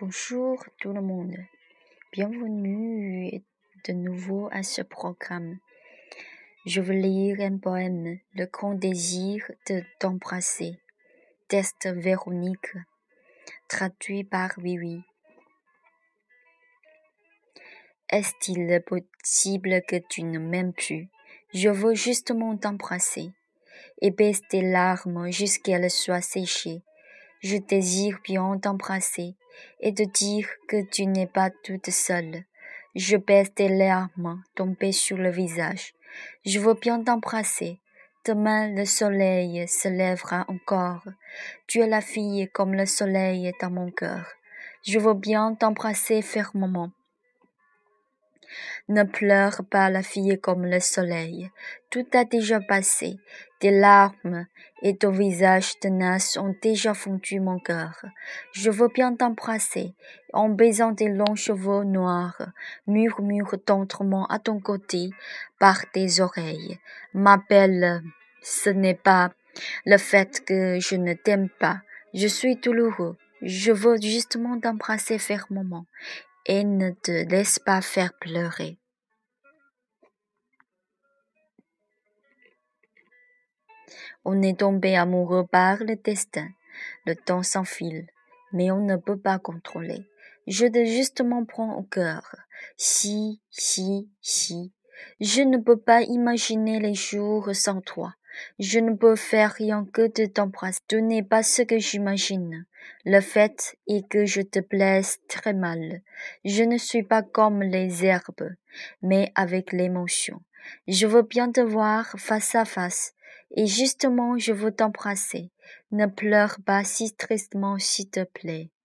Bonjour tout le monde, bienvenue de nouveau à ce programme. Je veux lire un poème, Le grand désir de t'embrasser, texte Véronique, traduit par Vivi. Est-il possible que tu ne m'aimes plus? Je veux justement t'embrasser et baisse tes larmes jusqu'elles soient séchées. Je désire bien t'embrasser et te dire que tu n'es pas toute seule. Je baisse tes larmes tombées sur le visage. Je veux bien t'embrasser. Demain le soleil se lèvera encore. Tu es la fille comme le soleil dans mon cœur. Je veux bien t'embrasser fermement. Ne pleure pas la fille comme le soleil. Tout a déjà passé. Tes larmes et ton visage tenace ont déjà fondu mon cœur. Je veux bien t'embrasser, en baisant tes longs cheveux noirs, murmure tendrement à ton côté, par tes oreilles. Ma belle, ce n'est pas le fait que je ne t'aime pas. Je suis douloureux. Je veux justement t'embrasser fermement et ne te laisse pas faire pleurer. On est tombé amoureux par le destin. Le temps s'enfile, mais on ne peut pas contrôler. Je te justement prends au cœur. Si. Je ne peux pas imaginer les jours sans toi. Je ne peux faire rien que de t'embrasser. Tu n'es pas ce que j'imagine. Le fait est que je te blesse très mal. Je ne suis pas comme les herbes, mais avec l'émotion. Je veux bien te voir face à face. Et justement, je veux t'embrasser. Ne pleure pas si tristement, s'il te plaît.